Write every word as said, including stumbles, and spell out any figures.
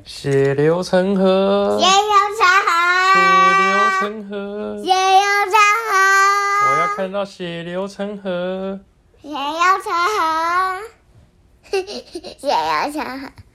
血流成河， 血流成河， 血流成河， 血流成河。 我要看到血流成河， 血流成河，血流成河。